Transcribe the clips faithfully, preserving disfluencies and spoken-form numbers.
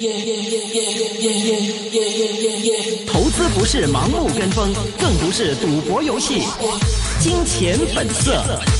投资不是盲目跟风，更不是赌博游戏。金钱本色。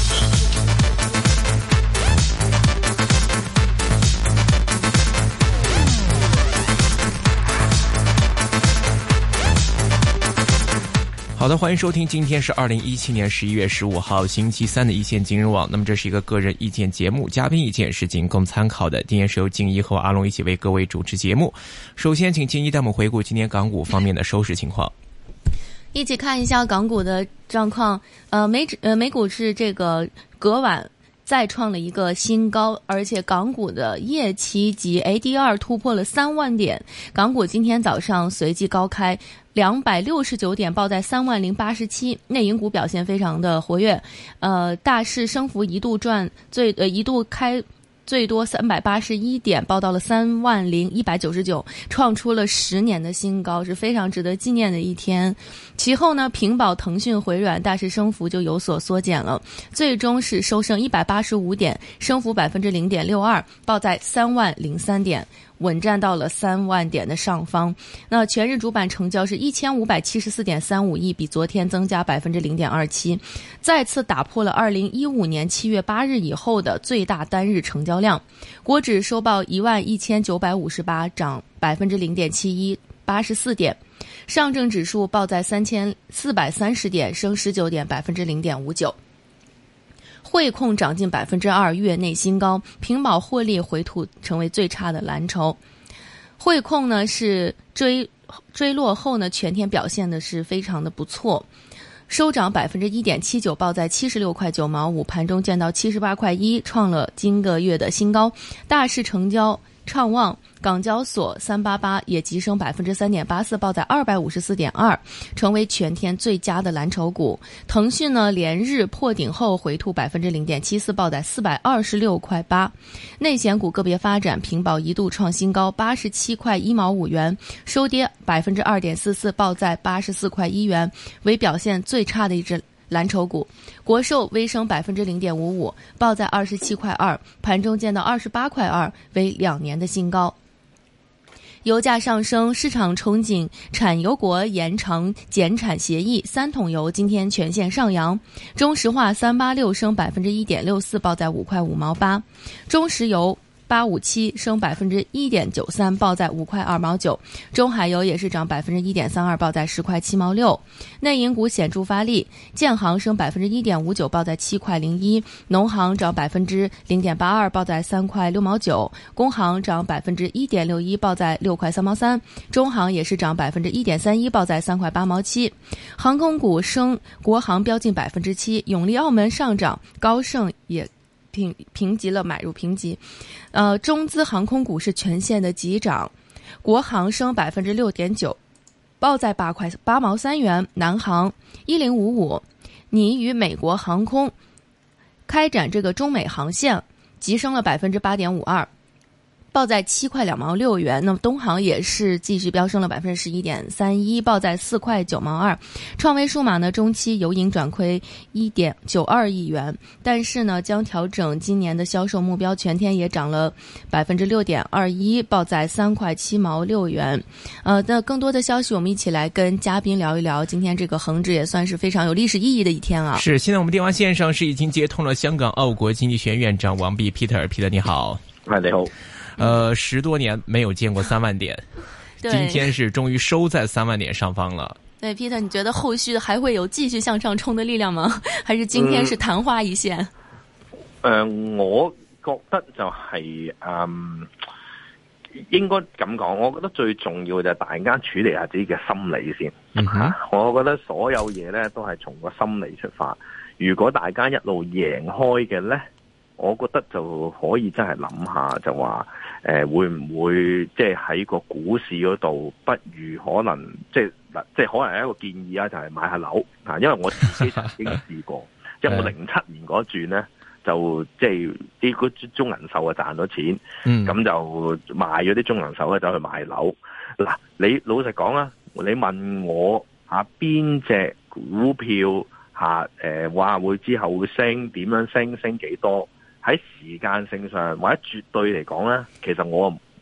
好的，欢迎收听，今天是二零一七年十一月十五号星期三的一线金融网。那么这是一个个人意见节目，嘉宾意见是仅供参考的。今天是由静一和阿龙一起为各位主持节目。首先请静一带我们回顾今天港股方面的收市情况。 一起看一下港股的状况。呃，美指呃美股是这个隔晚再创了一个新高，而且港股的夜期及 A D R 突破了三万点。港股今天早上随即高开两百六十九点，报在三万零八十七。内银股表现非常的活跃，呃，大市升幅一度赚最呃一度开最多三百八十一点，报到了三万零一百九十九，创出了十年的新高，是非常值得纪念的一天。其后呢，平保、腾讯、回软大市升幅就有所缩减了，最终是收升一百八十五点，升幅百分之零点六二，报在三万零三点。稳站到了三万点的上方。那全日主板成交是一千五百七十四点三五亿，比昨天增加百分之零点二七，再次打破了二零一五年七月八日以后的最大单日成交量。国指收报一万一千九百五十八，涨百分之零点七一，八十四点。上证指数报在三千四百三十点，升十九点，百分之零点五九。汇控涨近百分之二，月内新高。平保获利回吐，成为最差的蓝筹。汇控呢是追追落后呢，全天表现的是非常的不错，收涨百分之一点七九，报在七十六块九毛五，盘中见到七十八块一，创了今个月的新高。大市成交畅旺，港交所三八八也急升百分之三点八四，报在二百五十四点二，成为全天最佳的蓝筹股。腾讯呢连日破顶后回吐百分之零点七四，报在四百二十六块八。内险股个别发展，平保一度创新高八十七块一毛五元，收跌百分之二点四四，报在八十四块一元，为表现最差的一只蓝筹股。国寿微升百分之零点五五，报在二十七块二，盘中见到二十八块二，为两年的新高。油价上升，市场憧憬产油国延长减产协议，三桶油今天全线上扬。中石化三八六升百分之一点六四，报在五块五毛八。中石油八五七升百分之一点九三，报在五块二毛九。中海油也是涨百分之一点三二，报在十块七毛六。内银股显著发力，建行升百分之一点五九，报在七块零一。农行涨百分之零点八二，报在三块六毛九。工行涨百分之一点六一，报在六块三毛三。中行也是涨百分之一点三一，报在三块八毛七。航空股升，国航飙近百分之七，永利澳门上涨，高盛也评评级了买入评级。呃，中资航空股是全线的急涨，国航升百分之六点九，报在八块八毛三元。南航一零五五，拟与美国航空开展这个中美航线，急升了百分之八点五二，报在七块两毛六元。那么东航也是继续飙升了百分之十一点三一，报在四块九毛二。创维数码呢，中期由盈转亏一点九二亿元，但是呢，将调整今年的销售目标，全天也涨了百分之六点二一，报在三块七毛六元。呃，那更多的消息，我们一起来跟嘉宾聊一聊。今天这个恒指也算是非常有历史意义的一天啊。 是，现在我们电话线上是已经接通了香港澳国经济学院院长王弼 Peter，Peter 你好。 嗨，你好。 呃，十多年没有见过三万点，今天是终于收在三万点上方了。 对 ，Peter， 你觉得后续还会有继续向上冲的力量吗？还是今天是昙花一现？ 嗯，呃、我覺得就係、是、嗯，應該咁講。我覺得最重要就係大家處理下自己嘅心理先。嗯哼，我覺得所有嘢咧都係從個心理出發。如果大家一路贏開嘅咧，我覺得就可以真係諗下，就話誒、呃、會唔會即係喺個股市嗰度，不如可能即係嗱，即係可能係一個建議啊，就係、是、買下樓嚇，因為我自己曾經試過，即係我零七年嗰轉咧，就即係啲嗰中銀壽啊賺咗錢，咁、嗯、就賣咗啲中銀壽咧走去買樓。嗱，你老實講啊，你問我嚇邊隻股票嚇誒話會之後會升，點樣升，升幾多？喺時間性上或者絕對嚟講咧，其實我我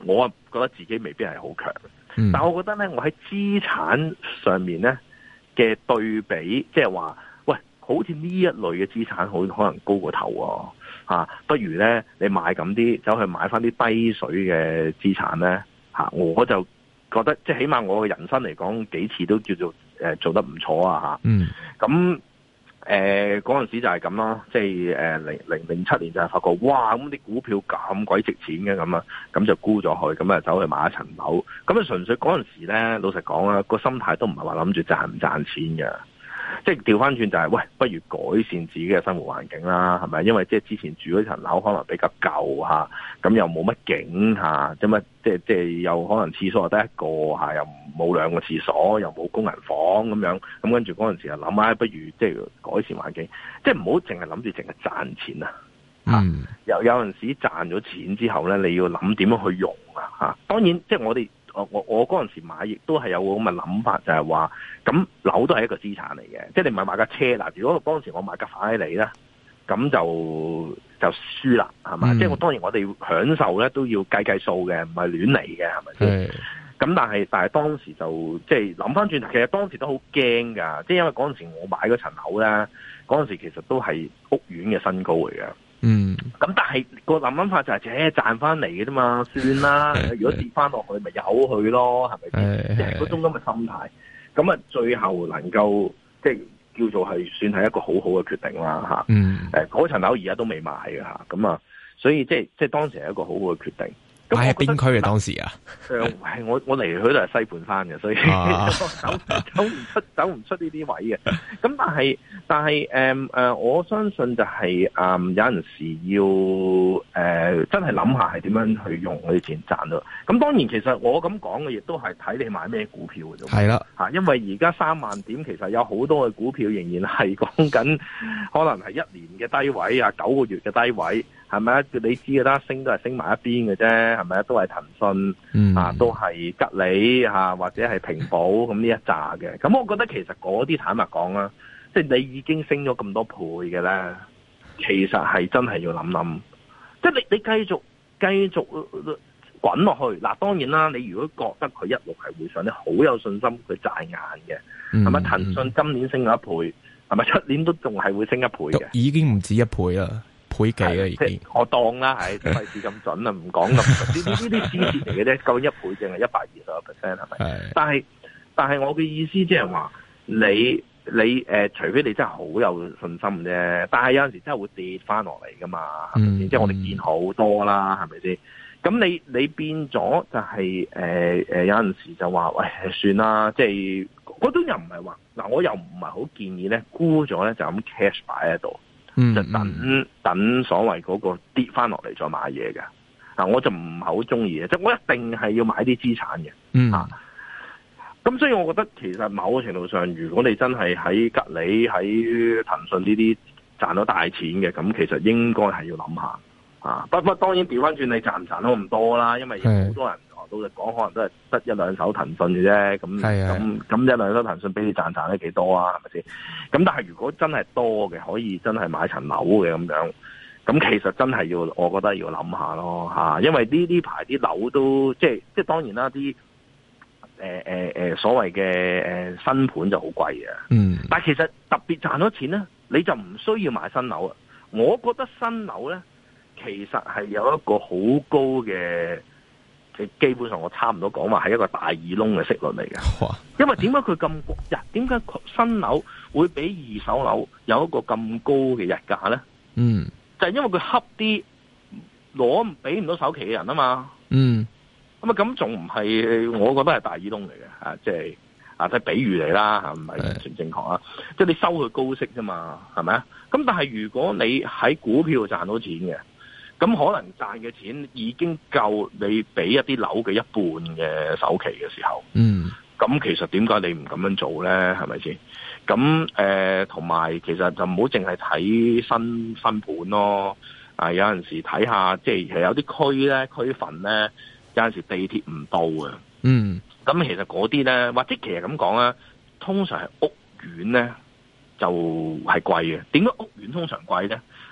覺得自己未必係好強。 嗯、 但係我覺得咧，我喺資產上面咧嘅對比，即係話，喂，好似呢一類嘅資產好可能高過頭喎、啊，不如咧你買咁啲，走去買翻啲低水嘅資產咧、啊，我就覺得即係起碼我嘅人生嚟講，幾次都叫做誒、呃、做得唔錯啊嚇。 嗯， 咁。誒嗰陣時就係咁咯，即係誒零零零七年就係發覺，哇！咁啲股票咁鬼值錢嘅咁啊，咁就沽咗去，咁啊走去買一層樓。咁啊純粹嗰陣時咧，老實講啦，個心態都唔係話諗住賺唔賺錢嘅，即係調翻轉就係、是，喂，不如改善自己嘅生活環境啦，係咪？因為即係之前住嗰層樓可能比較舊嚇，咁又冇乜景嚇，咁啊即係即係又可能廁所又得一個嚇，又冇兩個廁所，又冇工人房咁樣，咁跟住嗰陣時就諗下，不如即係改善環境，即係唔好淨係諗住淨係賺錢啊！嚇、嗯，有有陣時賺咗錢之後咧，你要諗點樣去用啊！嚇，當然即係我哋我我我嗰陣時買，亦都係有個咁嘅諗法，就係話咁樓都係一個資產嚟嘅，即係你唔係買架車嗱。如果嗰陣時我買架法拉利咧，咁就就輸啦，係嘛？嗯、即係我當然我哋享受咧都要計計數嘅，唔係亂嚟嘅，係咪先？咁但係但係當時就即係諗翻轉頭，其實當時都好驚㗎，即係因為嗰陣時我買嗰層樓咧，嗰陣時其實都係屋苑嘅新高嚟嘅。嗯。咁但係個諗諗法就係、是，誒賺翻嚟嘅啫嘛，算啦。如果跌翻落去，咪由佢咯，係咪先？即係嗰種咁嘅心態。咁啊，最後能夠即係叫做係算係一個好好嘅決定啦，嚇。嗯。誒，嗰層樓而家都未賣嘅嚇，咁啊，所以即係即係當時係一個好好嘅決定。 喺邊區嘅當時啊？ 誒，係我我嚟去都係西半山嘅，所以、啊、走走唔出走唔出呢啲位嘅。咁但係但係誒誒，我相信就係、是、誒、呃、有陣時要誒、呃、真係諗下係點樣去用嗰啲錢賺咯。咁當然其實我咁講嘅亦都係睇你買咩股票嘅啫。係啦嚇，因為而家三萬點其實有好多嘅股票仍然係講緊可能係一年嘅低位啊，九個月嘅低位。係咪啊？你知嘅啦，升都係升埋一邊嘅啫，係咪啊？都係騰訊、嗯、啊，都係吉利啊，或者係平保咁呢一紮嘅。咁我覺得其實嗰啲坦白講啦，即係你已經升咗咁多倍嘅咧，其實係真係要諗諗。即係你你繼續繼續滾落去嗱，當然啦，你如果覺得佢一路係會上，你好有信心佢賺硬嘅，係咪、嗯？騰訊今年升咗一倍，係咪出年都仲係會升一倍嘅？ 已經唔止一倍啦。倍幾啊已經， 我當啦，係費事咁準啊，唔講咁。呢呢呢啲支持嚟嘅啫，究竟一倍淨係一百二十個 percent 係咪？係。但係但係我嘅意思即係話，你你誒、呃，除非你真係好有信心啫，但係有陣時真係會跌翻落嚟噶嘛，係咪先？即係我哋見好多啦，係咪先？咁你你變咗就係誒誒，有陣時就話喂，算啦，即係嗰種又唔係話嗱，我又唔係好建議咧沽咗咧就咁 cash 擺喺度。嗯、就等等所謂嗰個跌翻落嚟再買嘢嘅，啊我就唔係好中意嘅，即係我一定係要買啲資產嘅，嗯啊，咁所以我覺得其實某個程度上，如果你真係喺吉利、喺騰訊呢啲賺到大錢嘅，咁其實應該係要諗下，啊，不過當然調翻轉你賺唔賺到咁多啦，因為好多人。到嚟講，可能都係得一兩手騰訊嘅啫，咁咁咁一兩手騰訊俾你賺賺得幾多啊？係咪先？咁但係如果真係多嘅，可以真係買層樓嘅咁樣，咁其實真係要，我覺得要諗下咯嚇，因為呢呢排啲樓都即係即係當然啦，啲誒誒誒所謂嘅誒新盤就好貴嘅，嗯，但係其實特別賺咗錢咧，你就唔需要買新樓啊。我覺得新樓咧，其實係有一個好高嘅。基本上我差唔多講話係一個大耳窿嘅息率嚟嘅，哇因為點解佢咁貴？點解新樓會比二手樓有一個咁高嘅日價咧？嗯，就係因為佢恰啲攞俾唔到首期嘅人啊嘛。嗯，咁啊咁仲唔係？我覺得係大耳窿嚟嘅嚇，即係啊，即係比喻嚟啦嚇，唔係完全正確啊。即係你收佢高息啫嘛，係咪啊？咁但係如果你喺股票賺到錢嘅。咁可能賺嘅錢已經夠你俾一啲樓嘅一半嘅首期嘅時候，嗯，咁其實點解你唔咁樣做咧？係咪先？咁誒，同、呃、埋其實就唔好淨係睇新新盤咯，啊有陣時睇下，即係其實有啲區咧區份咧，有陣時地鐵唔到嘅，嗯，咁其實嗰啲咧，或者其實咁講啦，通常係屋苑咧就係貴嘅。點解屋苑通常貴咧？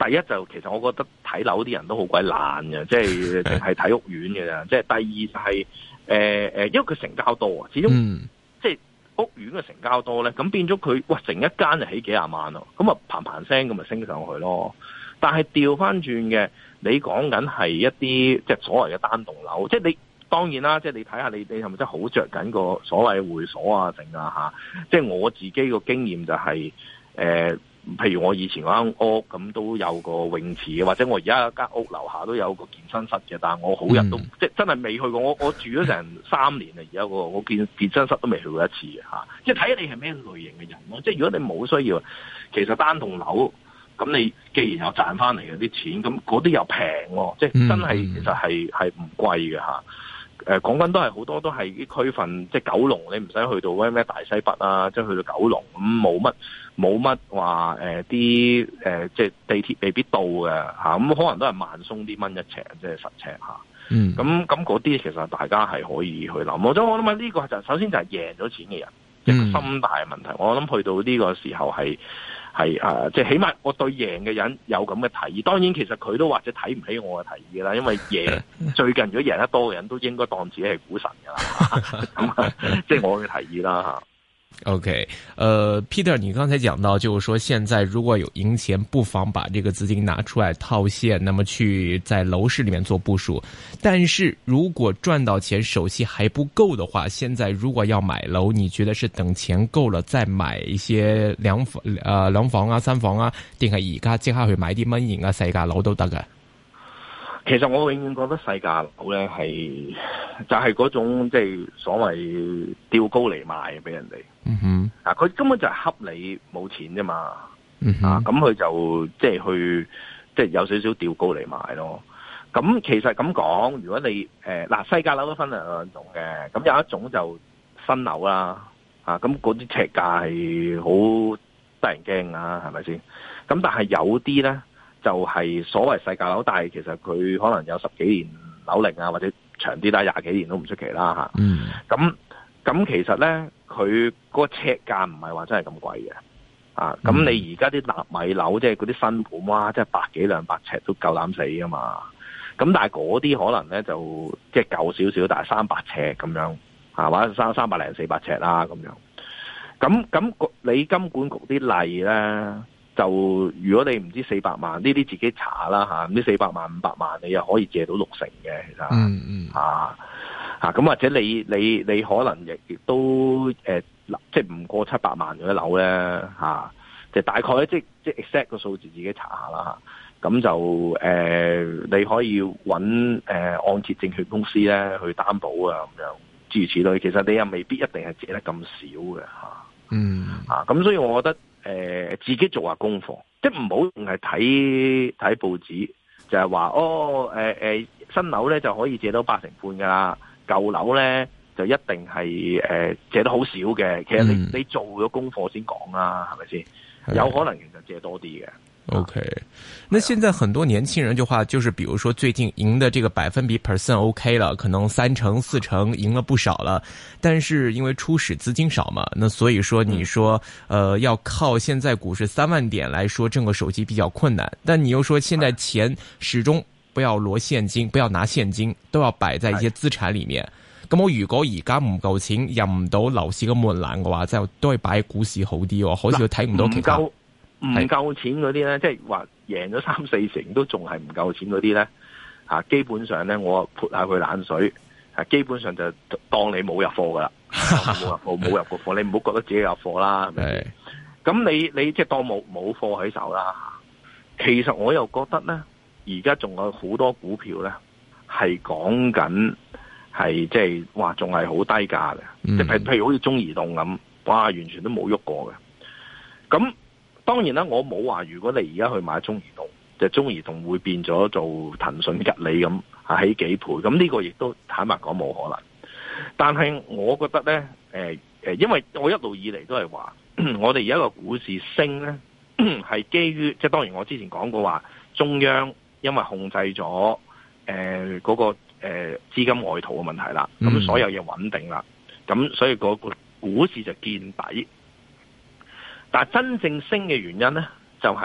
第一就其實我覺得睇樓啲人都好鬼懶嘅，即係淨係睇屋苑嘅咋。即係第二就係誒誒，因為佢成交多啊，始終、嗯、即係屋苑嘅成交多咧，咁變咗佢哇成一間就起幾廿萬咯，咁啊嘭嘭聲咁咪升上去咯。但係調翻轉嘅，你講緊係一啲即係所謂嘅單棟樓，即係你當然啦，即係你睇下你你係咪真係好着緊個所謂會所啊剩啊嚇？即係我自己個經驗就係、是、誒。呃譬如我以前嗰間屋咁都有個泳池嘅，或者我而家有間屋樓下都有個健身室嘅，但係我好日都、嗯、即係真係未去過。我我住咗成三年啦，而家個我健健身室都未去過一次嘅嚇。即係睇下你係咩類型嘅人咯。即係如果你冇需要，其實單棟樓咁你既然有賺翻嚟嘅啲錢，咁嗰啲又平喎，即係真係其實係係唔貴嘅嚇。誒講緊都係好多都係啲區份，即係九龍，你唔使去到咩咩大西北啊，即係去到九龍咁冇乜冇乜話誒啲誒即係地鐵未必到嘅嚇，咁可能都係萬鬆啲蚊一尺，即係十尺嚇。嗯，咁咁嗰啲其實大家係可以去諗。我諗我諗呢個就首先就係贏咗錢嘅人，一個心態問題。我諗去到呢個時候係。係啊，即係起碼我對贏嘅人有咁嘅提議，當然其實佢都或者睇唔起我嘅提議啦，因為贏最近如果贏得多嘅人都應該當自己係股神噶啦，咁即係我嘅提議啦吓。 OK， 呃 Peter， 你剛才講到，就是說現在如果有贏錢，不妨把這個資金拿出來套現，那麼去在樓市裏面做部署。但是如果賺到錢，手氣還不夠的話，現在如果要買樓，你覺得是等錢夠了再買一些兩房、呃兩房啊、三房啊，定係而家即刻去買啲蚊型啊、細價樓都得㗎？ 其實我永遠覺得細價樓咧係就係、是、嗰種即係所謂吊高嚟賣俾人哋。嗯哼，啊佢根本就係恰你冇錢啫嘛。嗯、啊咁佢就即係去即係有少少吊高嚟賣咯。咁其實咁講，如果你誒嗱細價樓都分兩種嘅，咁有一種就新樓啦。啊咁嗰啲尺價係好得人驚啊，係咪先？咁但係有啲咧。就係所謂細價樓，但係其實佢可能有十幾年樓齡啊，或者長啲啦，廿幾年都唔出奇啦嚇。嗯。咁咁其實咧，佢個尺價唔係話真係咁貴嘅。啊，咁你而家啲納米樓，即係嗰啲新盤，哇，即係百幾兩百尺都夠膽死㗎嘛。咁但係嗰啲可能咧就即係舊少少，但係三百尺咁樣，啊，或者三三百零四百尺啦咁樣。咁咁你金管局啲例咧？就如果你唔知四百萬呢啲自己查啦吓，唔知四百萬五百萬你又可以借到六成嘅，其實嗯嗯啊啊咁或者你你你可能亦亦都誒、呃、即係唔過七百萬嗰啲樓咧吓，就大概即即 exact 個數字自己查下啦吓，咁就誒、呃、你可以揾誒、呃、按揭證券公司咧去擔保啊咁樣諸如此類，其實你又未必一定係借得咁少嘅吓，嗯啊咁所以我覺得。誒、呃，自己做下功課，即係唔好淨係睇睇報紙，就係、是、話哦，誒、呃、誒，新樓咧就可以借到八成半噶啦，舊樓咧就一定係誒、呃、借得好少嘅。其實你、嗯、你做咗功課先講啦，係咪先？有可能其實借多啲嘅。 OK，那現在很多年輕人就話，就是比如說最近贏的這個百分比 percent OK 了，可能三成四成贏了不少了，但是因為初始資金少嘛，那所以說你說，呃，要靠現在股市三萬點來說掙個手機比較困難，但你又說現在錢始終不要攞現金，不要拿現金，都要擺在一些資產裏面。咁我如果而家唔夠錢入唔到樓市嘅門檻嘅話，就都係擺喺股市好啲喎，好似睇唔到其他。 唔夠錢嗰啲咧，即係話贏咗三四成都仲係唔夠錢嗰啲咧，嚇基本上咧，我潑下佢冷水，嚇基本上就當你冇入貨噶啦，冇入貨冇入過貨，你唔好覺得自己有貨啦，係咪？咁你你即係當冇冇貨喺手啦。其實我又覺得咧，而家仲有好多股票咧係講緊係即係話仲係好低價嘅，即係譬譬如好似中移動咁，哇，完全都冇喐過嘅，咁。當然啦，我冇話如果你而家去買中移動，就中移動會變咗做騰訊吉利咁啊，起幾倍，咁呢個亦都坦白講冇可能。但係我覺得咧，誒、呃、誒，因為我一路以嚟都係話，我哋而家個股市升咧，係基於即係當然我之前講過話，中央因為控制咗誒嗰個誒資、呃、金外逃嘅問題啦，咁、嗯、所有嘢穩定啦，咁所以個個股市就見底。但係真正升嘅原因咧，就係、是、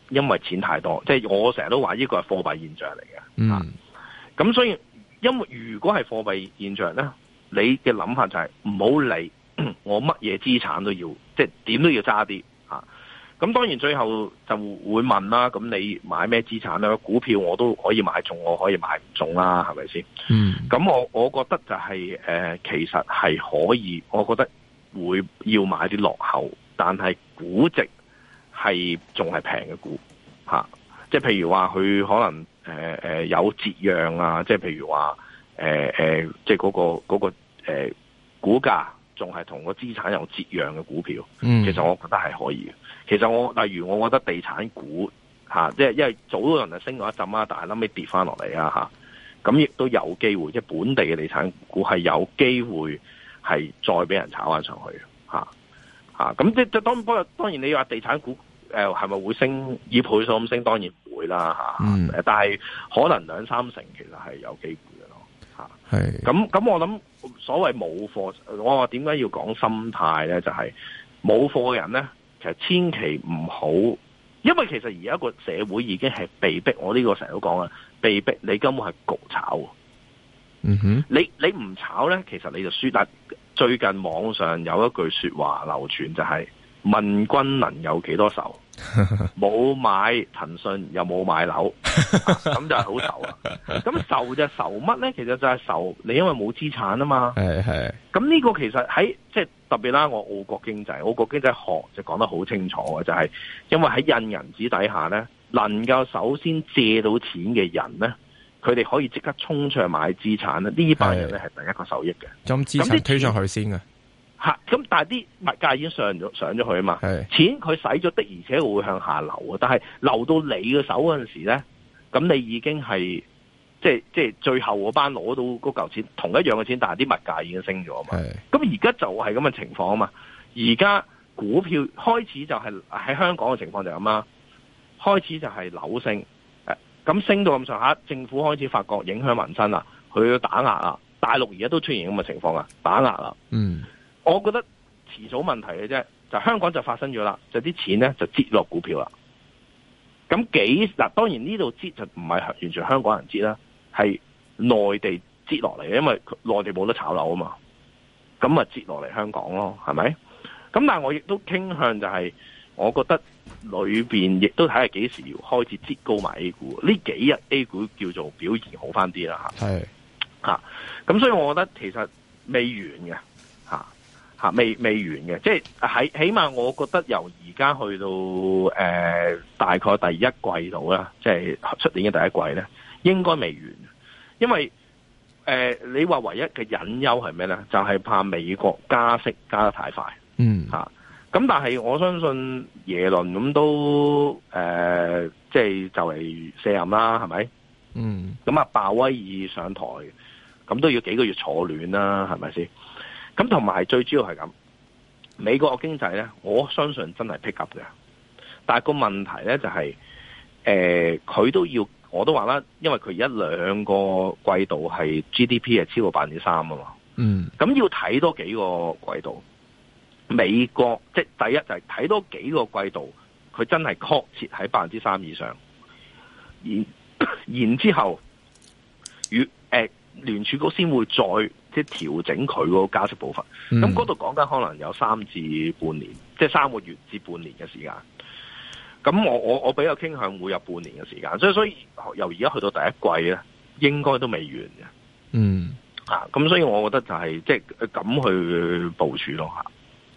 因為錢太多，即係我成日都話呢個係貨幣現象嚟嘅。 嗯， 咁所以因為如果係貨幣現象咧，你嘅諗法就係唔好理我乜嘢資產都要，即係點都要揸啲嚇。咁當然最後就會問啦，咁你買咩資產咧？股票我都可以買中，我可以買唔中啦，係咪先？ 嗯。 咁我我覺得就係、是、誒、呃，其實係可以，我覺得會要買啲落後，但係估值係仲係平嘅股嚇、啊。即係譬如話佢可能誒誒、呃、有折讓啊，即係譬如話誒誒，即係嗰、那個嗰、那個誒、呃、股價仲係同個資產有折讓嘅股票， 嗯、 其實我覺得係可以嘅。其實我例如我覺得地產股嚇，即、啊、係因為早嗰輪就升咗一陣啊，但係後尾跌翻落嚟啊嚇，咁亦都有機會，即係本地嘅地產股係有機會係再俾人炒翻上去嚇嚇。咁即係當不過當然你話地產股誒係咪會升以倍數咁升？當然唔會啦嚇。嗯、但係可能兩三成其實係有機會嘅咯嚇。係咁咁，我諗所謂冇貨，我話點解要講心態咧？就係冇貨嘅人咧。其實千祈唔好，因為其實而家個社會已經係被逼，我呢個成日都講啦，被逼你根本係焗炒。嗯哼，你你唔炒咧，其實你就輸。但最近網上有一句說話流傳就係、是：問君能有幾多仇？冇買騰訊又冇買樓，咁就係好愁啊！咁愁就愁乜咧？其實就係愁你因為冇資產啊嘛。係係。咁呢個其實喺即係特別啦，我澳國經濟，澳國經濟學就講得好清楚嘅，就係、是、因為喺印銀紙底下咧，能夠首先借到錢嘅人咧，佢哋可以即刻衝出去買資產咧，呢班人咧係第一個受益嘅。將資產推上去先嘅。吓，咁但係啲物價已經上咗上咗去啊嘛，是錢佢使咗的，而且會向下流啊。但係流到你嘅手嗰陣時咧，咁你已經係即係即係最後嗰班攞到嗰嚿錢，同一樣嘅錢，但係啲物價已經升咗啊嘛。咁而家就係咁嘅情況啊嘛。而家股票開始就係、是、喺香港嘅情況就係咁啦，開始就係樓升，誒咁升到咁上下，政府開始發覺影響民生啦，佢要打壓啊。大陸而家都出現咁嘅情況啊，打壓啦，嗯。我覺得遲早問題嘅啫，就香港就發生咗啦，就啲錢咧就擠落股票啦。咁幾嗱，當然呢度擠就唔係完全香港人擠啦，係內地擠落嚟嘅，因為內地冇得炒樓啊嘛。咁咪擠落嚟香港咯，係咪？咁但係我亦都傾向就係、是，我覺得裏邊亦都睇下幾時要開始擠高埋 A 股。呢幾日 A 股叫做表現好翻啲啦，嚇。係嚇，咁所以我覺得其實未完嘅嚇。吓，未未完嘅，即係喺起碼，我覺得由而家去到誒、呃、大概第一季度啦，即係出年嘅第一季咧，應該未完。因為誒、呃，你話唯一嘅隱憂係咩咧？就係、是、怕美國加息加得太快。嗯，吓、啊，咁但係我相信耶倫咁都誒、呃，即係就嚟卸任啦，係咪？嗯，咁啊，鮑威爾上台，咁都要幾個月坐暖啦，係咪先？咁同埋最主要係咁，美國嘅經濟咧，我相信真係 pick up 嘅。但係個問題咧就係、是，誒、呃，佢都要，我都話啦，因為佢而家兩個季度係 G D P 係超過百分之三啊嘛。嗯。咁要睇多幾個季度，美國即係第一就係睇多幾個季度，佢真係確切喺百分之三以上。然然之後，與誒、呃、聯儲局先會再。即係調整佢嗰個加息步伐，咁嗰度講緊可能有三至半年，即係三個月至半年嘅時間。咁我我我比較傾向會有半年嘅時間，所以所以由而家去到第一季咧，應該都未完嘅。嗯，啊，咁所以我覺得就係即係咁去部署咯嚇。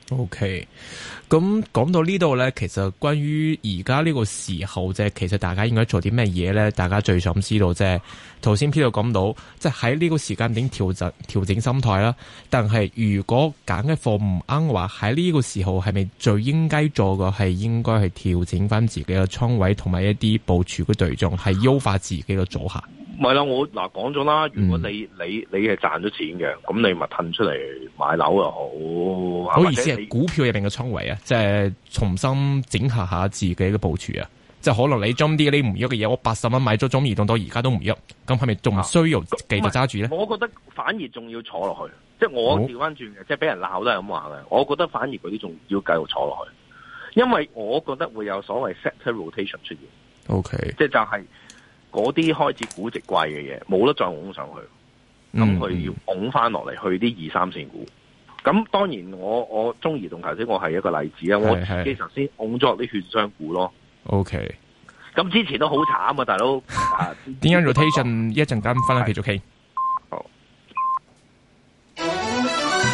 OK，咁講到呢度咧，其實關於而家呢個時候啫，其實大家應該做啲咩嘢咧？大家最想知道啫。頭先 Peter 講到，即係喺呢個時間點調整調整心態啦。但係如果揀嘅貨唔啱嘅話，喺呢個時候係咪最應該做嘅係應該係調整翻自己嘅倉位同埋一啲部署嘅對象，係優化自己嘅組合？ 唔係啦，我嗱講咗啦，如果你、嗯、你你係賺咗錢嘅，咁你咪褪出嚟買樓又好。 好意思係股票入邊嘅倉位啊，即係重新整合下自己嘅部署啊。即係可能你中啲你唔喐嘅嘢，我八十蚊買咗中移動到而家都唔喐，咁係咪仲需要繼續揸住咧？ 我覺得反而仲要坐落去，即係我調翻轉嘅，即係俾人鬧都係咁話嘅。我覺得反而嗰啲仲要繼續坐落去， 因為我覺得會有所謂 sector rotation 出現。 OK， 即係就係嗰啲開始估值貴嘅嘢，冇得再拱上去，咁佢要拱翻落嚟去啲二三線股。咁當然我我中移動頭先我係一個例子啊，我自己頭先拱咗啲券商股咯。 OK， 咁之前都好慘啊，大佬。 點樣 rotation 一陣間翻嚟繼續傾。